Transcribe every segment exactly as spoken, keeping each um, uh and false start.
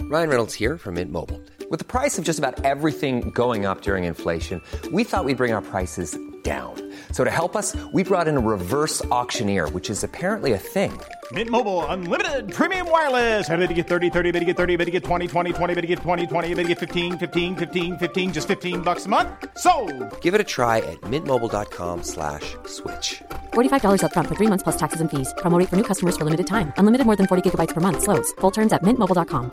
Ryan Reynolds here from Mint Mobile. With the price of just about everything going up during inflation, we thought we'd bring our prices down. So to help us, we brought in a reverse auctioneer, which is apparently a thing. Mint Mobile Unlimited Premium Wireless. How to get thirty, thirty, how to get thirty, how to get twenty, twenty, twenty, how to get twenty, twenty, how to get fifteen, fifteen, fifteen, fifteen, just fifteen bucks a month? Sold! Give it a try at mintmobile.com slash switch. forty-five dollars up front for three months plus taxes and fees. Promo rate for new customers for limited time. Unlimited more than forty gigabytes per month. Slows full terms at mint mobile dot com.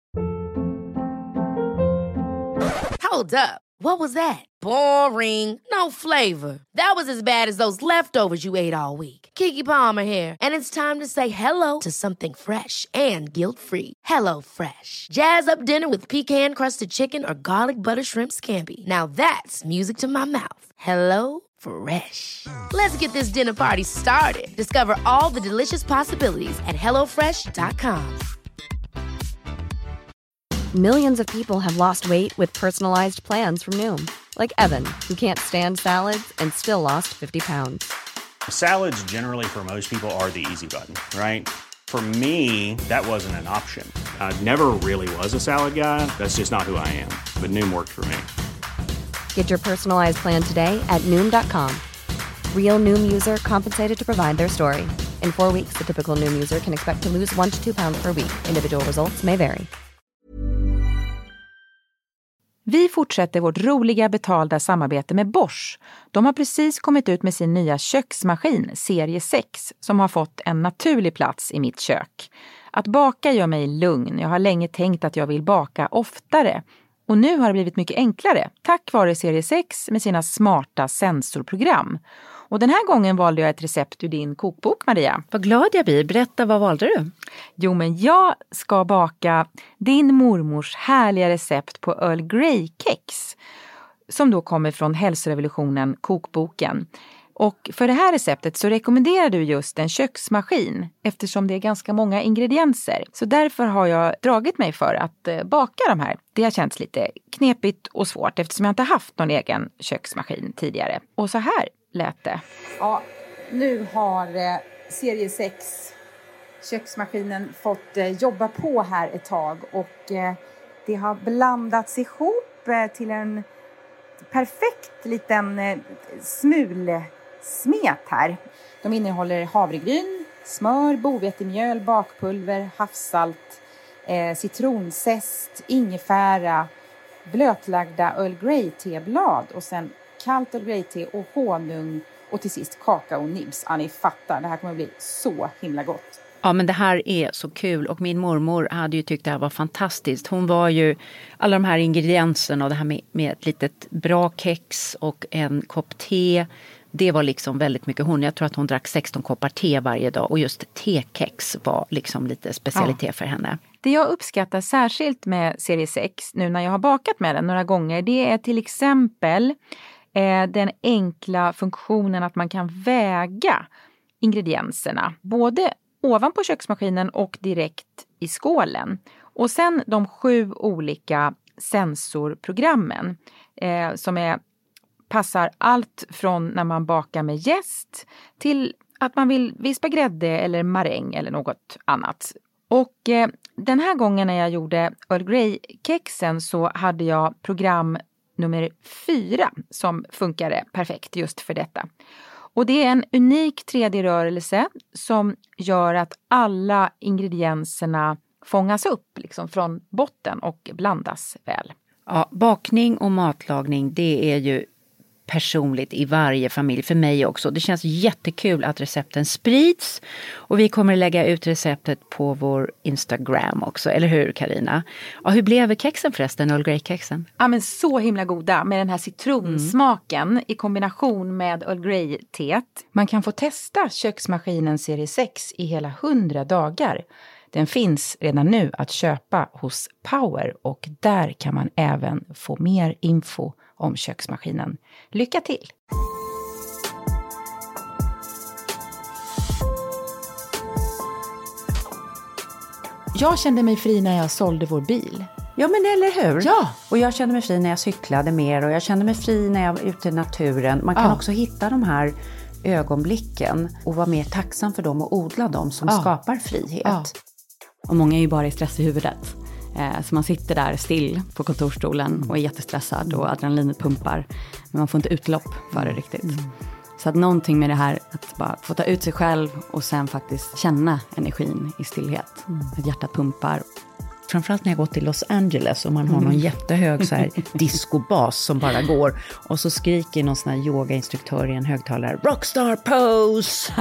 Hold up. What was that? Boring. No flavor. That was as bad as those leftovers you ate all week. Keke Palmer here, and it's time to say hello to something fresh and guilt-free. Hello Fresh. Jazz up dinner with pecan-crusted chicken or garlic butter shrimp scampi. Now that's music to my mouth. Hello Fresh. Let's get this dinner party started. Discover all the delicious possibilities at hello fresh dot com. Millions of people have lost weight with personalized plans from Noom. Like Evan, who can't stand salads and still lost fifty pounds. Salads generally for most people are the easy button, right? For me, that wasn't an option. I never really was a salad guy. That's just not who I am. But Noom worked for me. Get your personalized plan today at noom dot com. Real Noom user compensated to provide their story. In four weeks, the typical Noom user can expect to lose one to two pounds per week. Individual results may vary. Vi fortsätter vårt roliga betalda samarbete med Bosch. De har precis kommit ut med sin nya köksmaskin, serie sex, som har fått en naturlig plats i mitt kök. Att baka gör mig lugn. Jag har länge tänkt att jag vill baka oftare. Och nu har det blivit mycket enklare, tack vare serie sex med sina smarta sensorprogram. Och den här gången valde jag ett recept ur din kokbok, Maria. Vad glad jag blir. Berätta, vad valde du? Jo, men jag ska baka din mormors härliga recept på Earl Grey-kex. Som då kommer från Hälsorevolutionen, kokboken. Och för det här receptet så rekommenderar du just en köksmaskin eftersom det är ganska många ingredienser. Så därför har jag dragit mig för att baka de här. Det har känts lite knepigt och svårt eftersom jag inte haft någon egen köksmaskin tidigare. Och så här lät det. Ja, nu har eh, serie sex köksmaskinen fått eh, jobba på här ett tag. Och eh, det har blandats ihop eh, till en perfekt liten eh, smul... smet här. De innehåller havregryn, smör, bovetemjöl, bakpulver, havssalt, eh, citronzest, ingefära, blötlagda Earl Grey-teblad och sen kallt Earl Grey-te och honung och till sist kakao-nibs. Ja, ni fattar, det här kommer bli så himla gott. Ja, men det här är så kul och min mormor hade ju tyckt det här var fantastiskt. Hon var ju alla de här ingredienserna och det här med, med ett litet bra kex och en kopp te. Det var liksom väldigt mycket hon. Jag tror att hon drack sexton koppar te varje dag och just tekex var liksom lite specialitet ja. för henne. Det jag uppskattar särskilt med serie sex nu när jag har bakat med den några gånger, det är till exempel eh, den enkla funktionen att man kan väga ingredienserna. Både ovanpå köksmaskinen och direkt i skålen. Och sen de sju olika sensorprogrammen eh, som är, passar allt från när man bakar med jäst till att man vill vispa grädde eller maräng eller något annat. Och eh, den här gången när jag gjorde Earl Grey-kexen så hade jag program nummer fyra som funkade perfekt just för detta. Och det är en unik tre D-rörelse som gör att alla ingredienserna fångas upp liksom från botten och blandas väl. Ja, bakning och matlagning, det är ju personligt i varje familj, för mig också. Det känns jättekul att recepten sprids och vi kommer lägga ut receptet på vår Instagram också, eller hur Carina? Ja, hur blev kexen förresten, Earl Grey-kexen? Ja, men så himla goda med den här citronsmaken mm. i kombination med Earl Grey-teet. Man kan få testa köksmaskinen serie sex i hela hundra dagar. Den finns redan nu att köpa hos Power och där kan man även få mer info om köksmaskinen. Lycka till! Jag kände mig fri när jag sålde vår bil. Ja, men eller hur? Ja. Och jag kände mig fri när jag cyklade mer och jag kände mig fri när jag var ute i naturen. Man kan ja. också hitta de här ögonblicken och vara mer tacksam för dem och odla dem som ja. skapar frihet. Ja. Och många är ju bara i stress i huvudet. Eh, så man sitter där still på kontorsstolen och är jättestressad och adrenalinet pumpar. Men man får inte utlopp för det riktigt. Mm. Så att någonting med det här att bara få ta ut sig själv och sen faktiskt känna energin i stillhet. Mm. Att hjärtat pumpar. Framförallt när jag går till Los Angeles och man har någon jättehög så här discobas som bara går. Och så skriker någon sån här yogainstruktör i en högtalare, Rockstar pose!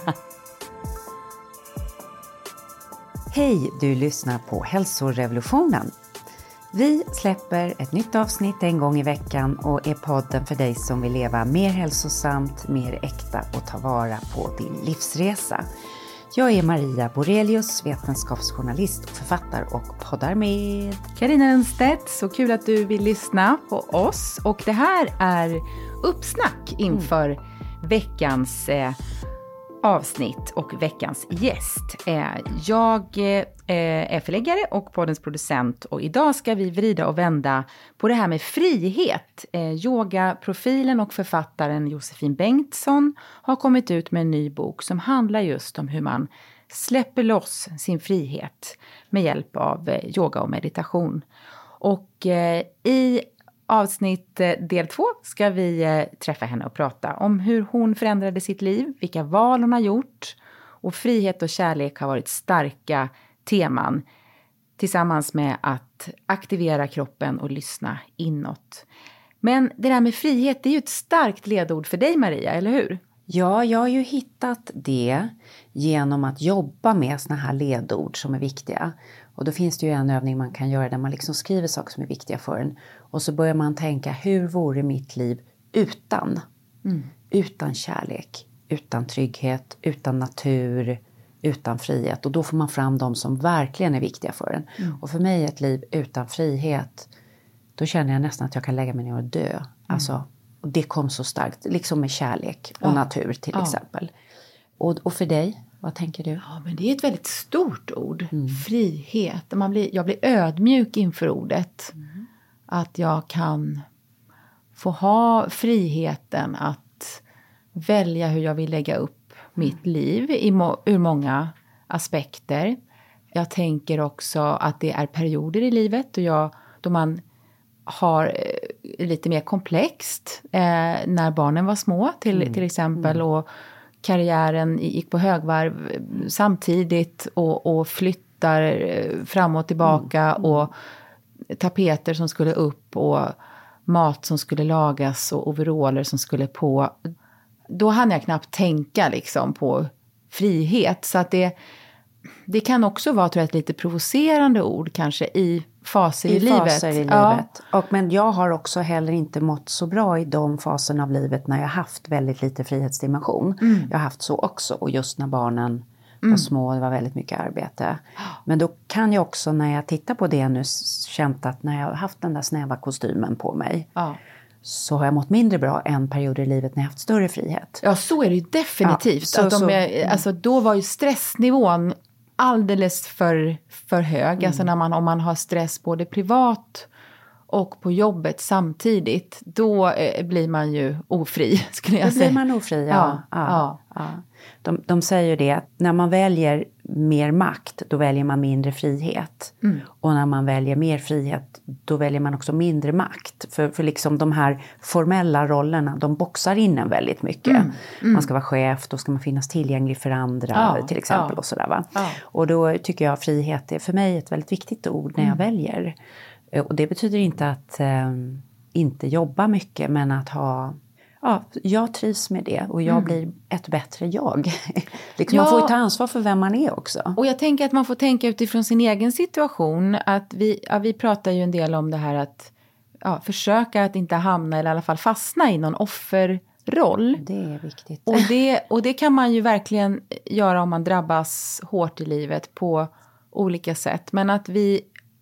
Hej, du lyssnar på Hälsorevolutionen. Vi släpper ett nytt avsnitt en gång i veckan och är podden för dig som vill leva mer hälsosamt, mer äkta och ta vara på din livsresa. Jag är Maria Borelius, vetenskapsjournalist och författare och poddar med Carina Lundstedt. Så kul att du vill lyssna på oss. Och det här är uppsnack inför mm. veckans eh, avsnitt och veckans gäst. Eh, jag eh, är förläggare och poddens producent och idag ska vi vrida och vända på det här med frihet. Eh, yogaprofilen och författaren Josefin Bengtsson har kommit ut med en ny bok som handlar just om hur man släpper loss sin frihet med hjälp av eh, yoga och meditation. Och eh, i avsnitt del två ska vi eh, träffa henne och prata om hur hon förändrade sitt liv, vilka val hon har gjort och frihet och kärlek har varit starka teman tillsammans med att aktivera kroppen och lyssna inåt. Men det där med frihet, det är ju ett starkt ledord för dig Maria, eller hur? Ja, jag har ju hittat det genom att jobba med såna här ledord som är viktiga. Och då finns det ju en övning man kan göra där man liksom skriver saker som är viktiga för en. Och så börjar man tänka, hur vore mitt liv utan? Mm. Utan kärlek, utan trygghet, utan natur, utan frihet. Och då får man fram de som verkligen är viktiga för en. Mm. Och för mig ett liv utan frihet, då känner jag nästan att jag kan lägga mig ner och dö. Mm. Alltså, och det kom så starkt, liksom med kärlek och ja. natur till ja. exempel. Och, och för dig? Vad tänker du? Ja, men det är ett väldigt stort ord. Mm. Frihet. Man blir, jag blir ödmjuk inför ordet. Mm. Att jag kan få ha friheten att välja hur jag vill lägga upp mitt liv i må, ur många aspekter. Jag tänker också att det är perioder i livet och jag, då man har eh, lite mer komplext eh, när barnen var små till, mm. till exempel mm. och karriären gick på högvarv samtidigt och, och flyttar fram och tillbaka mm. och tapeter som skulle upp och mat som skulle lagas och overaller som skulle på. Då hann jag knappt tänka liksom på frihet. Så att det, det kan också vara tror jag, ett lite provocerande ord kanske i faser i, i livet. Faser i ja. livet. Och, men jag har också heller inte mått så bra i de faserna av livet när jag har haft väldigt lite frihetsdimension. Mm. Jag har haft så också och just när barnen mm. var små det var väldigt mycket arbete. Men då kan jag också när jag tittar på det nu känt att när jag har haft den där snäva kostymen på mig ja. så har jag mått mindre bra än perioder i livet när jag haft större frihet. Ja, så är det ju definitivt. Ja, så, att de är, så, alltså, då var ju stressnivån alldeles för, för hög. Mm. Alltså när man, om man har stress både privat och på jobbet samtidigt. Då eh, blir man ju ofri skulle jag då säga. Då blir man ofri, ja. ja, ja, ja. ja. De, de säger ju det att när man väljer mer makt då väljer man mindre frihet. Mm. Och när man väljer mer frihet då väljer man också mindre makt. För, för liksom de här formella rollerna de boxar in en väldigt mycket. Mm. Mm. Man ska vara chef, då ska man finnas tillgänglig för andra ja, till exempel. Ja. Och sådär va. Ja. Och då tycker jag frihet är för mig ett väldigt viktigt ord när jag mm. väljer. Och det betyder inte att eh, inte jobba mycket men att ha... Ja, jag trivs med det och jag mm. blir ett bättre jag. liksom ja. Man får ju ta ansvar för vem man är också. Och jag tänker att man får tänka utifrån sin egen situation. Att vi, ja, vi pratar ju en del om det här att ja, försöka att inte hamna eller i alla fall fastna i någon offerroll. Det är viktigt. Och det, och det kan man ju verkligen göra om man drabbas hårt i livet på olika sätt. Men att vi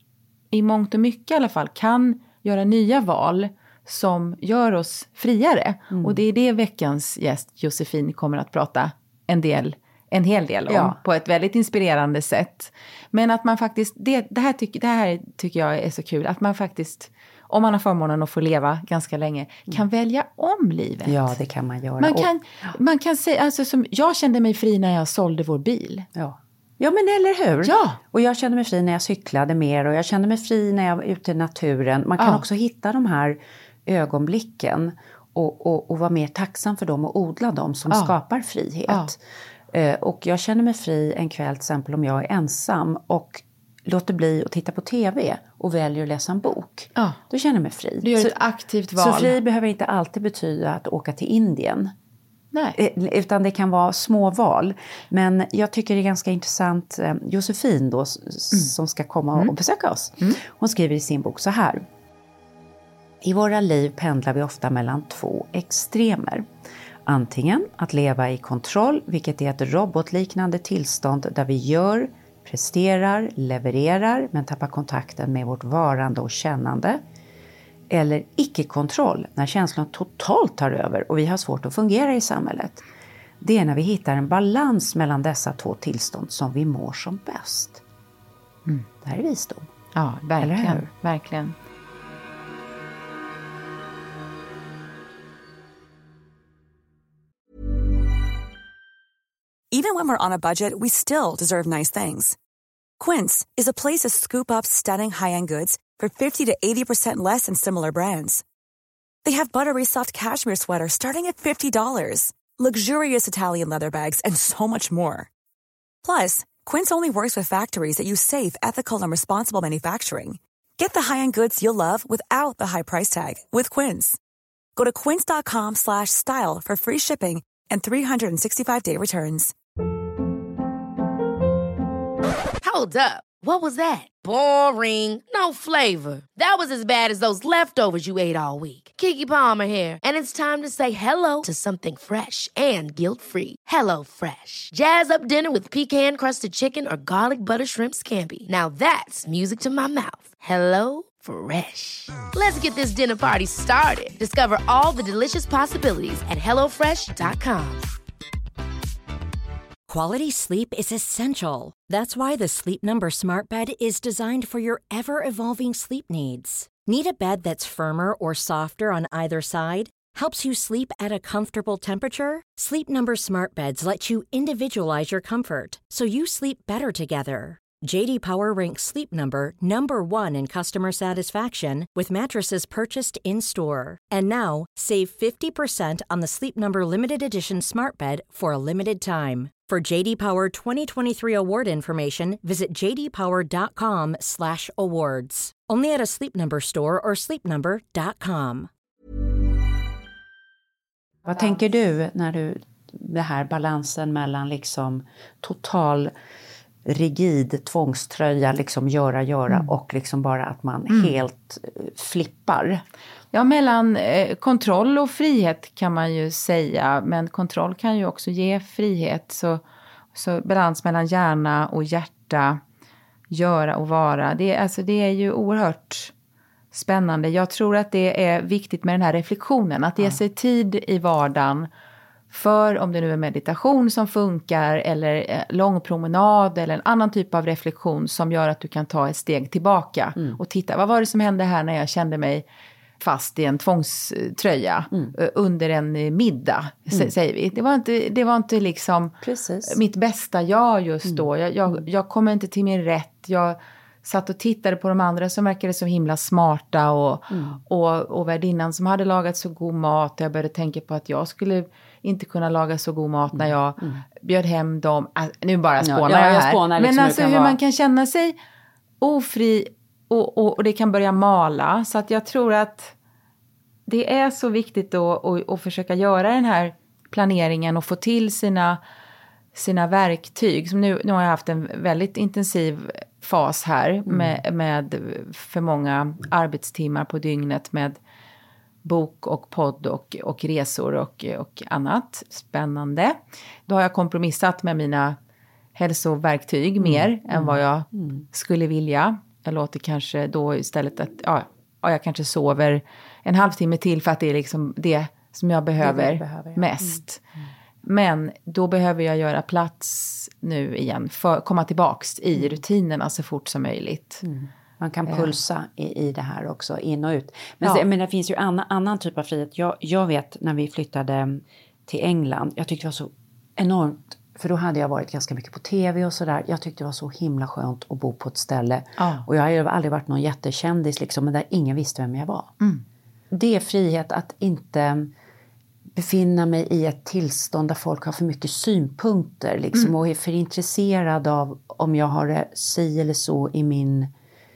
i mångt och mycket i alla fall kan göra nya val som gör oss friare. Mm. Och det är det veckans gäst Josefin kommer att prata en del, en hel del om. Ja. På ett väldigt inspirerande sätt. Men att man faktiskt, det, det, här tycker, det här tycker jag är så kul. Att man faktiskt, om man har förmånen att få leva ganska länge, kan mm. välja om livet. Ja, det kan man göra. Man kan, och, man kan säga, alltså som, jag kände mig fri när jag sålde vår bil. Ja. Ja, men eller hur? Ja. Och jag kände mig fri när jag cyklade mer och jag kände mig fri när jag var ute i naturen. Man kan Ja. också hitta de här ögonblicken och, och, och vara mer tacksam för dem och odla dem som Ja. skapar frihet. Ja. Eh, och jag känner mig fri en kväll till exempel om jag är ensam och låter bli att titta på tv och väljer att läsa en bok. Ja. Då känner jag mig fri. Du gör så, ett aktivt val. Så fri behöver inte alltid betyda att åka till Indien. Nej. Utan det kan vara små val. Men jag tycker det är ganska intressant. Josefin då, mm. som ska komma och mm. besöka oss. Mm. Hon skriver i sin bok så här. I våra liv pendlar vi ofta mellan två extremer. Antingen att leva i kontroll, vilket är ett robotliknande tillstånd där vi gör, presterar, levererar men tappar kontakten med vårt varande och kännande. Eller icke-kontroll, när känslan totalt tar över och vi har svårt att fungera i samhället. Det är när vi hittar en balans mellan dessa två tillstånd som vi mår som bäst. Mm. Det här är visdom. Ja, verkligen. verkligen. Even when we're on a budget, we still deserve nice things. Quince is a place to scoop up stunning high-end goods for fifty to eighty percent less than similar brands. They have buttery soft cashmere sweaters starting at fifty dollars, luxurious Italian leather bags, and so much more. Plus, Quince only works with factories that use safe, ethical, and responsible manufacturing. Get the high-end goods you'll love without the high price tag with Quince. Go to quince.com slash style for free shipping and three sixty-five day returns. Hold up. What was that? Boring. No flavor. That was as bad as those leftovers you ate all week. Keke Palmer here, and it's time to say hello to something fresh and guilt-free. Hello Fresh. Jazz up dinner with pecan-crusted chicken or garlic butter shrimp scampi. Now that's music to my mouth. Hello Fresh. Let's get this dinner party started. Discover all the delicious possibilities at hello fresh dot com. Quality sleep is essential. That's why the Sleep Number Smart Bed is designed for your ever-evolving sleep needs. Need a bed that's firmer or softer on either side? Helps you sleep at a comfortable temperature? Sleep Number Smart Beds let you individualize your comfort, so you sleep better together. J D Power ranks Sleep Number number one in customer satisfaction with mattresses purchased in-store. And now, save fifty percent on the Sleep Number Limited Edition Smart Bed for a limited time. For J D Power twenty twenty-three award information, visit j d power dot com slash awards. Only at a Sleep Number store or sleep number dot com. Vad tänker du när du, det här balansen mellan liksom total rigid tvångströja, liksom göra, göra mm. och liksom bara att man mm. helt flippar? Ja, mellan eh, kontroll och frihet kan man ju säga, men kontroll kan ju också ge frihet. Så, så balans mellan hjärna och hjärta, göra och vara, det, alltså, det är ju oerhört spännande. Jag tror att det är viktigt med den här reflektionen, att ge ja. sig tid i vardagen för, om det nu är meditation som funkar eller lång promenad eller en annan typ av reflektion som gör att du kan ta ett steg tillbaka mm. och titta, vad var det som hände här när jag kände mig fast i en tvångströja mm. under en middag, mm. säger vi. Det var inte, det var inte liksom Precis. mitt bästa jag just mm. då. Jag, jag, jag kom inte till min rätt. Jag satt och tittade på de andra som verkade så himla smarta och, mm. och, och värdinnan som hade lagat så god mat. Jag började tänka på att jag skulle inte kunna laga så god mat när jag mm. bjöd hem dem. Alltså, nu bara spånar ja, jag, jag här. Spånar liksom. Men alltså hur vara... man kan känna sig ofri och, och, och det kan börja mala. Så att jag tror att det är så viktigt då att, att försöka göra den här planeringen och få till sina, sina verktyg. Som nu, nu har jag haft en väldigt intensiv fas här mm. med, med för många arbetstimmar på dygnet med bok och podd och, och resor och, och annat spännande. Då har jag kompromissat med mina hälsoverktyg mm. mer mm. än vad jag mm. skulle vilja. Jag låter kanske då istället att ja, jag kanske sover en halvtimme till för att det är liksom det som jag behöver, det behöver jag. mest. Mm. Mm. Men då behöver jag göra plats nu igen för att komma tillbaks i mm. rutinerna så fort som möjligt. Mm. Man kan pulsa i, i det här också, in och ut. Men, ja. så, men det finns ju annan, annan typ av frihet. Jag, jag vet när vi flyttade till England, jag tyckte det var så enormt för då hade jag varit ganska mycket på tv och sådär. Jag tyckte det var så himla skönt att bo på ett ställe. Ja. Och jag har ju aldrig varit någon jättekändis liksom, men där ingen visste vem jag var. Mm. Det är frihet att inte befinna mig i ett tillstånd där folk har för mycket synpunkter liksom, Mm. och är för intresserad av om jag har det si eller så i min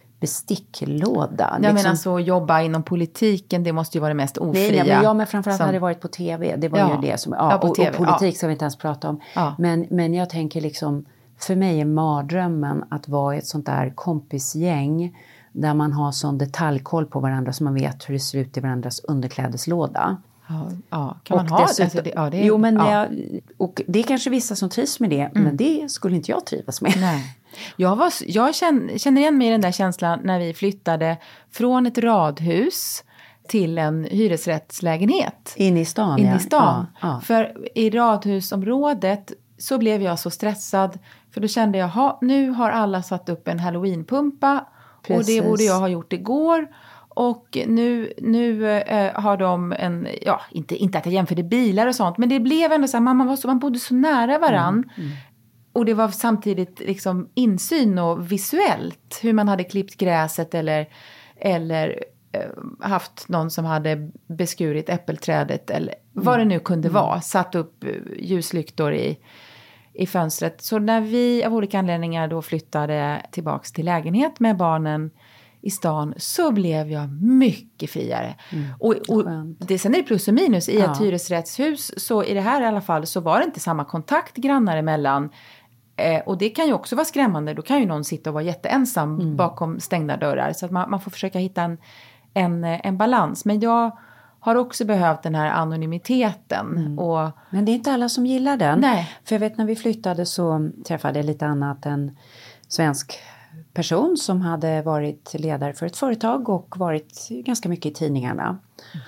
besticklåda. Jag liksom. menar så jobba inom politiken, det måste ju vara det mest ofria. Nej, men jag men framförallt som... hade det varit på tv. Det var Ja. ju det som, ja, Ja, på och, T V, och politik ja. ska vi inte ens prata om. Ja. Men, men jag tänker liksom, för mig är mardrömmen att vara i ett sånt där kompisgäng där man har sån detaljkoll på varandra så man vet hur det ser ut i varandras underklädeslåda. Ja, ja. Kan man Och ha dessutom, alltså det? Ja, det är, jo, men ja. jag, och det är kanske vissa som trivs med det, mm. men det skulle inte jag trivas med. Nej. Jag, var, jag känner, känner igen mig i den där känslan när vi flyttade från ett radhus till en hyresrättslägenhet. In i stan, In ja. i stan. Ja, ja. För i radhusområdet så blev jag så stressad. För då kände jag, ha, nu har alla satt upp en Halloweenpumpa. Precis. Och det borde jag ha gjort igår. Och nu, nu eh, har de en, ja inte, inte att jag jämförde bilar och sånt. Men det blev ändå så här, man, man, var så, man bodde så nära varann. Mm, mm. Och det var samtidigt liksom insyn och visuellt. Hur man hade klippt gräset eller, eller eh, haft någon som hade beskurit äppelträdet. Eller mm. vad det nu kunde mm. vara. Satt upp ljuslyktor i, i fönstret. Så när vi av olika anledningar då flyttade tillbaks till lägenhet med barnen i stan så blev jag mycket friare. Mm. Och, och det, sen är det plus och minus. I ja. ett hyresrättshus så i det här i alla fall så var det inte samma kontakt grannar emellan. Eh, och det kan ju också vara skrämmande. Då kan ju någon sitta och vara jätteensam mm. bakom stängda dörrar. Så att man, man får försöka hitta en, en, en balans. Men jag har också behövt den här anonymiteten. Mm. Och, men det är inte alla som gillar den. Nej. För jag vet när vi flyttade så träffade jag lite annat än svensk person som hade varit ledare för ett företag och varit ganska mycket i tidningarna. Mm.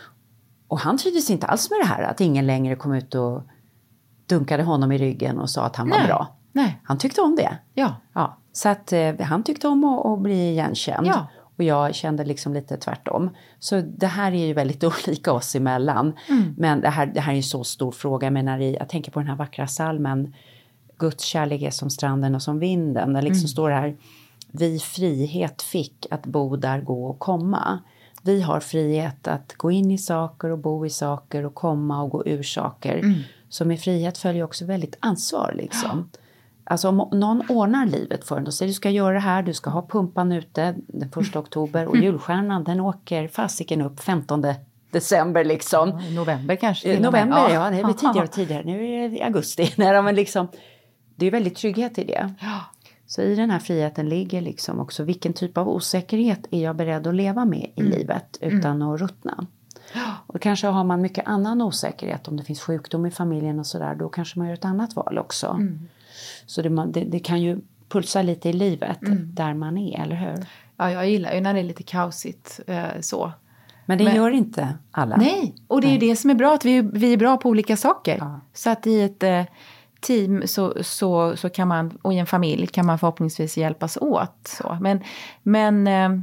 Och han trivdes inte alls med det här att ingen längre kom ut och dunkade honom i ryggen och sa att han Nej. var bra. Nej. Han tyckte om det. Ja. Ja. Så att eh, han tyckte om att, att bli igenkänd. Ja. Och jag kände liksom lite tvärtom. Så det här är ju väldigt olika oss emellan. Mm. Men det här, det här är en så stor fråga. Jag menar, jag tänker på den här vackra salmen. Guds kärlek är som stranden och som vinden. Där liksom mm. står det här. Vi frihet fick att bo där, gå och komma. Vi har frihet att gå in i saker och bo i saker och komma och gå ur saker. Mm. Så med frihet följer också väldigt ansvar liksom. Ja. Alltså om någon ordnar livet för en och säger du ska göra det här, du ska ha pumpan ute den första oktober och julstjärnan den åker fasiken upp femtonde december liksom. Ja, november kanske. November, ja. ja det blir tidigare och tidigare. Nu är det augusti. Nej, men liksom, det är väldigt trygghet i det. Ja. Så i den här friheten ligger liksom också vilken typ av osäkerhet är jag beredd att leva med i mm. livet utan mm. att ruttna. Och kanske har man mycket annan osäkerhet om det finns sjukdom i familjen och sådär. Då kanske man gör ett annat val också. Mm. Så det, det, det kan ju pulsa lite i livet mm. där man är, eller hur? Ja, jag gillar ju när det är lite kaosigt eh, så. Men det Men, gör inte alla. Nej, och det är ju det som är bra. Att vi, vi är bra på olika saker. Ja. Så att i ett eh, team så, så, så kan man, och i en familj kan man förhoppningsvis hjälpas åt. Så. Men, men eh,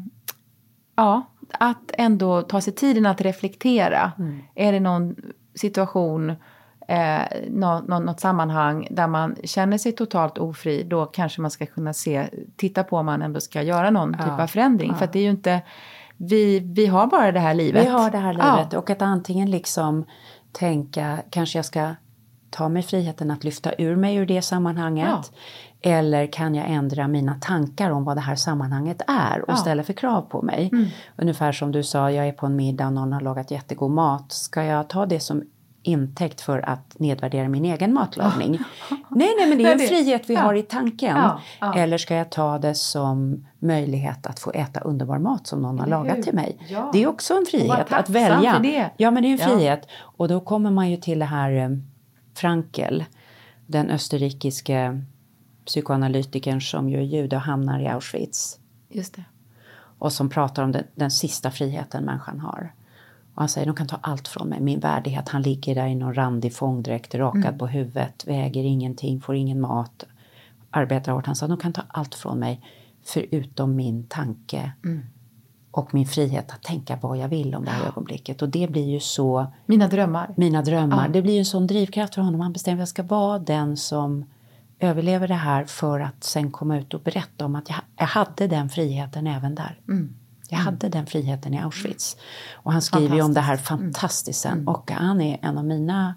ja, att ändå ta sig tiden att reflektera. Mm. Är det någon situation, eh, nå, nå, något sammanhang där man känner sig totalt ofri, då kanske man ska kunna se, titta på om man ändå ska göra någon ja. typ av förändring. Ja. För att det är ju inte, vi, vi har bara det här livet. Vi har det här livet ja. och att antingen liksom tänka, kanske jag ska ta mig friheten att lyfta ur mig ur det sammanhanget. Ja. Eller kan jag ändra mina tankar om vad det här sammanhanget är och ja. ställa för krav på mig. Mm. Ungefär som du sa, jag är på en middag och någon har lagat jättegod mat. Ska jag ta det som intäkt för att nedvärdera min egen matlagning? nej, nej, men det är en frihet vi ja. har i tanken. Ja. Ja. Eller ska jag ta det som möjlighet att få äta underbar mat som någon har lagat till mig? Ja. Det är också en frihet att välja. För det. Ja, men det är en frihet. Ja. Och då kommer man ju till det här Frankel, den österrikiske psykoanalytikern som ju är jude och hamnar i Auschwitz. Just det. Och som pratar om den, den sista friheten människan har. Och han säger, de kan ta allt från mig. Min värdighet, han ligger där i någon randig fångdräkt, rakad mm. på huvudet, väger ingenting, får ingen mat, arbetar hårt. Han sa, de kan ta allt från mig förutom min tanke mm. och min frihet att tänka vad jag vill om det här ögonblicket. Och det blir ju så... Mina drömmar. Mina drömmar. Ja. Det blir ju en sån drivkraft för honom. Han bestämmer att jag ska vara den som överlever det här för att sen komma ut och berätta om att jag, jag hade den friheten även där. Mm. Jag hade mm. den friheten i Auschwitz. Och han skriver ju om det här fantastiskt sen. Mm. Och han är en av mina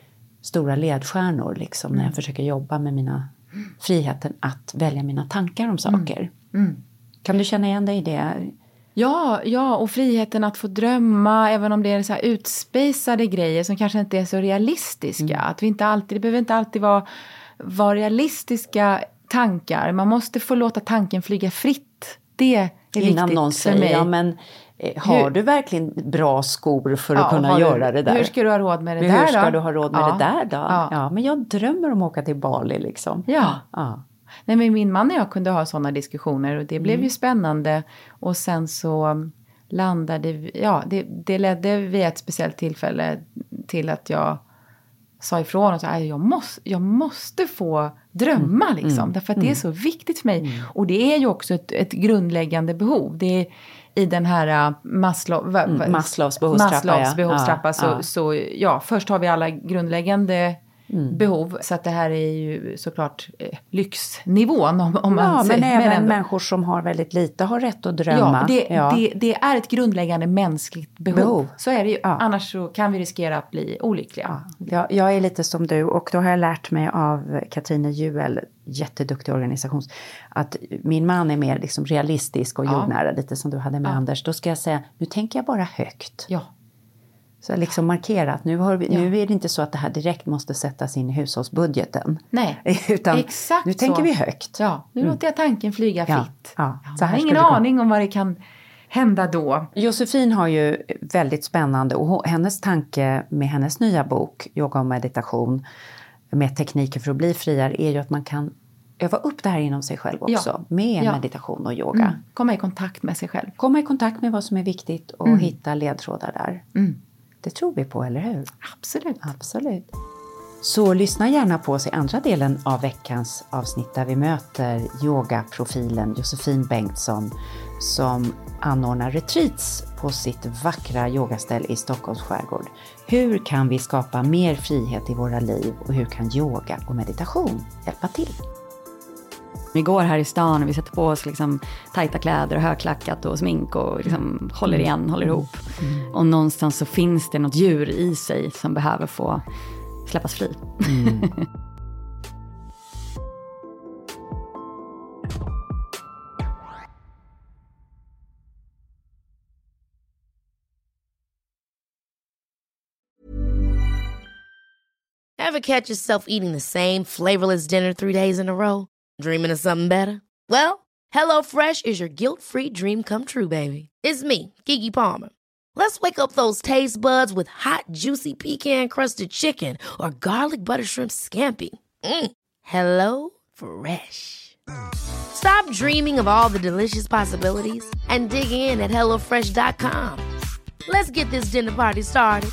stora ledstjärnor liksom, mm. när jag försöker jobba med mina friheten att välja mina tankar om saker. Mm. Mm. Kan du känna igen dig i det? Ja, ja, och friheten att få drömma, även om det är så här utspejsade grejer som kanske inte är så realistiska. Mm. Att vi inte alltid, det behöver inte alltid vara, vara realistiska tankar. Man måste få låta tanken flyga fritt. Det är Innan viktigt någon säger, för mig. Ja, men eh, har hur, du verkligen bra skor för ja, att kunna göra du, det där? Hur ska du ha råd med det hur där då? Hur ska du ha råd med ja. det där då? Ja. ja, men jag drömmer om att åka till Bali liksom. Ja. ja. Nej, men min man och jag kunde ha sådana diskussioner och det blev mm. ju spännande. Och sen så landade vi, ja, det, det ledde vid ett speciellt tillfälle till att jag sa ifrån och sa att jag måste, jag måste få drömma mm. liksom. Mm. Därför att det är så viktigt för mig. Mm. Och det är ju också ett, ett grundläggande behov. Det är i den här Maslow, mm. Maslows behovstrappa. Maslows ja. behovstrappa ja, så, ja. så ja, först har vi alla grundläggande Mm. behov. Så att det här är ju såklart eh, lyxnivån om, om man ja, säger. Men även men ändå. Människor som har väldigt lite har rätt att drömma. Ja, det, ja. det, det är ett grundläggande mänskligt behov. behov. Så är det ju. Ja. Annars så kan vi riskera att bli olyckliga. Ja. Jag, jag är lite som du och då har jag lärt mig av Katrine Juel, jätteduktig organisation, att min man är mer liksom realistisk och jordnära, ja. lite som du hade med ja. Anders. Då ska jag säga, nu tänker jag bara högt. Ja. Så liksom markerat, nu, har vi, ja. nu är det inte så att det här direkt måste sättas in i hushållsbudgeten. Nej, utan exakt nu tänker så. vi högt. Ja, nu mm. låter jag tanken flyga ja. fritt. Ja. Ja, jag har ingen aning om vad det kan hända då. Josefin har ju väldigt spännande, och hennes tanke med hennes nya bok, Yoga och meditation, med tekniker för att bli friare, är ju att man kan öva upp det här inom sig själv också. Ja. Med ja. meditation och yoga. Mm. Komma i kontakt med sig själv. Komma i kontakt med vad som är viktigt och mm. hitta ledtrådar där. Mm. Det tror vi på, eller hur? Absolut. Absolut. Så lyssna gärna på oss i andra delen av veckans avsnitt där vi möter yogaprofilen Josefin Bengtsson som anordnar retreats på sitt vackra yogaställ i Stockholms skärgård. Hur kan vi skapa mer frihet i våra liv och hur kan yoga och meditation hjälpa till? Vi går här i stan och vi sätter på oss liksom tajta kläder och högklackat och smink och liksom håller igen, håller ihop. Mm. Och någonstans så finns det något djur i sig som behöver få släppas fri. Mm. Ever catch yourself eating the same flavorless dinner three days in a row? Dreaming of something better? Well, HelloFresh is your guilt-free dream come true, baby. It's me, Keke Palmer. Let's wake up those taste buds with hot, juicy pecan-crusted chicken or garlic butter shrimp scampi. Mm. Hello Fresh. Stop dreaming of all the delicious possibilities and dig in at hello fresh dot com. Let's get this dinner party started.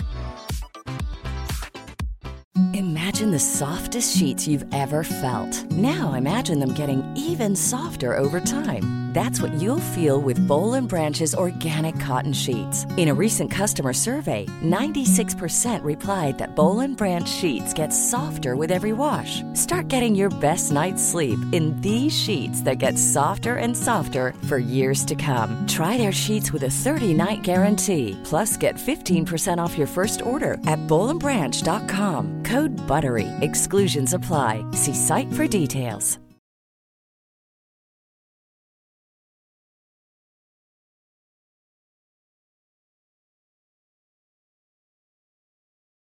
Imagine the softest sheets you've ever felt. Now imagine them getting even softer over time. That's what you'll feel with Boll and Branch's organic cotton sheets. In a recent customer survey, ninety-six percent replied that Boll and Branch sheets get softer with every wash. Start getting your best night's sleep in these sheets that get softer and softer for years to come. Try their sheets with a thirty-night guarantee. Plus, get fifteen percent off your first order at boll and branch dot com. Code BUTTERY. Exclusions apply. See site for details.